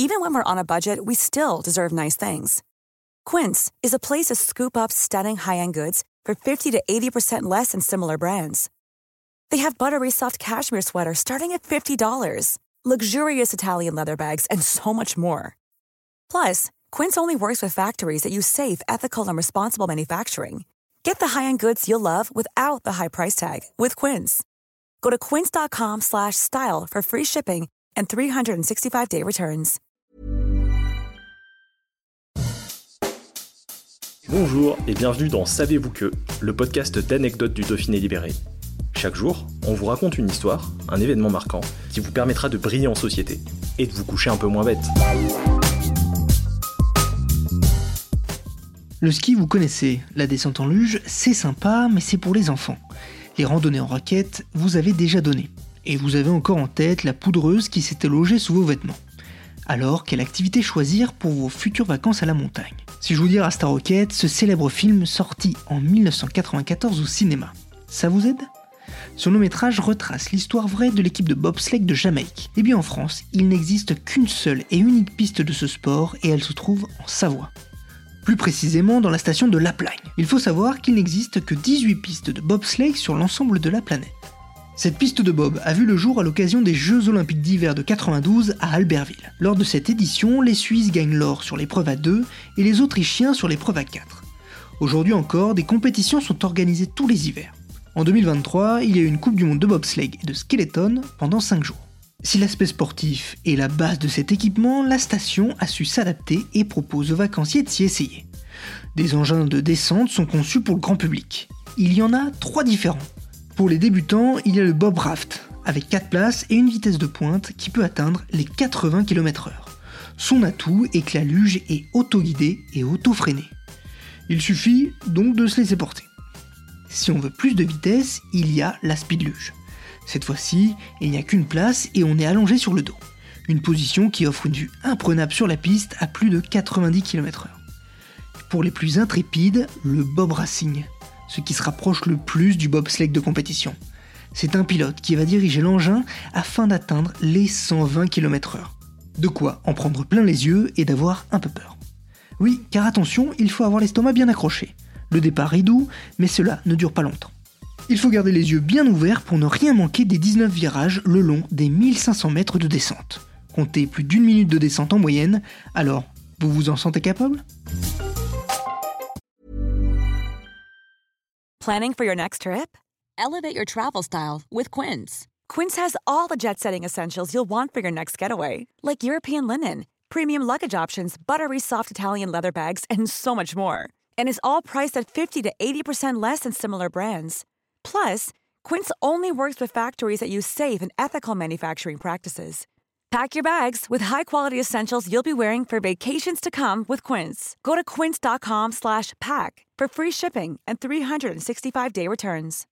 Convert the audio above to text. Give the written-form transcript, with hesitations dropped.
Even when we're on a budget, we still deserve nice things. Quince is a place to scoop up stunning high-end goods for 50 to 80% less than similar brands. They have buttery soft cashmere sweaters starting at $50, luxurious Italian leather bags, and so much more. Plus, Quince only works with factories that use safe, ethical, and responsible manufacturing. Get the high-end goods you'll love without the high price tag with Quince. Go to quince.com/style for free shipping and 365-day returns. Bonjour et bienvenue dans Savez-vous que, le podcast d'anecdotes du Dauphiné libéré. Chaque jour, on vous raconte une histoire, un événement marquant, qui vous permettra de briller en société et de vous coucher un peu moins bête. Le ski, vous connaissez. La descente en luge, c'est sympa, mais c'est pour les enfants. Les randonnées en raquettes, vous avez déjà donné. Et vous avez encore en tête la poudreuse qui s'était logée sous vos vêtements. Alors, quelle activité choisir pour vos futures vacances à la montagne ? Si je vous dis Rasta Rocket, ce célèbre film sorti en 1994 au cinéma, ça vous aide ? Ce long-métrage retrace l'histoire vraie de l'équipe de bobsleigh de Jamaïque. Et bien en France, il n'existe qu'une seule et unique piste de ce sport et elle se trouve en Savoie. Plus précisément dans la station de Laplagne. Il faut savoir qu'il n'existe que 18 pistes de bobsleigh sur l'ensemble de la planète. Cette piste de bob a vu le jour à l'occasion des Jeux Olympiques d'hiver de 92 à Albertville. Lors de cette édition, les Suisses gagnent l'or sur l'épreuve à 2 et les Autrichiens sur l'épreuve à 4. Aujourd'hui encore, des compétitions sont organisées tous les hivers. En 2023, il y a eu une Coupe du Monde de bobsleigh et de skeleton pendant 5 jours. Si l'aspect sportif est la base de cet équipement, la station a su s'adapter et propose aux vacanciers de s'y essayer. Des engins de descente sont conçus pour le grand public. Il y en a 3 différents. Pour les débutants, il y a le Bob Raft, avec 4 places et une vitesse de pointe qui peut atteindre les 80 km/h. Son atout est que la luge est auto-guidée et auto-freinée. Il suffit donc de se laisser porter. Si on veut plus de vitesse, il y a la speed luge. Cette fois-ci, il n'y a qu'une place et on est allongé sur le dos. Une position qui offre une vue imprenable sur la piste à plus de 90 km/h. Pour les plus intrépides, le Bob Racing, ce qui se rapproche le plus du bobsleigh de compétition. C'est un pilote qui va diriger l'engin afin d'atteindre les 120 km/h. De quoi en prendre plein les yeux et d'avoir un peu peur. Oui, car attention, il faut avoir l'estomac bien accroché. Le départ est doux, mais cela ne dure pas longtemps. Il faut garder les yeux bien ouverts pour ne rien manquer des 19 virages le long des 1500 mètres de descente. Comptez plus d'1 minute de descente en moyenne, alors vous vous en sentez capable ? Planning for your next trip? Elevate your travel style with Quince. Quince has all the jet-setting essentials you'll want for your next getaway, like European linen, premium luggage options, buttery soft Italian leather bags, and so much more. And is all priced at 50 to 80% less than similar brands. Plus, Quince only works with factories that use safe and ethical manufacturing practices. Pack your bags with high-quality essentials you'll be wearing for vacations to come with Quince. Go to quince.com/pack for free shipping and 365-day returns.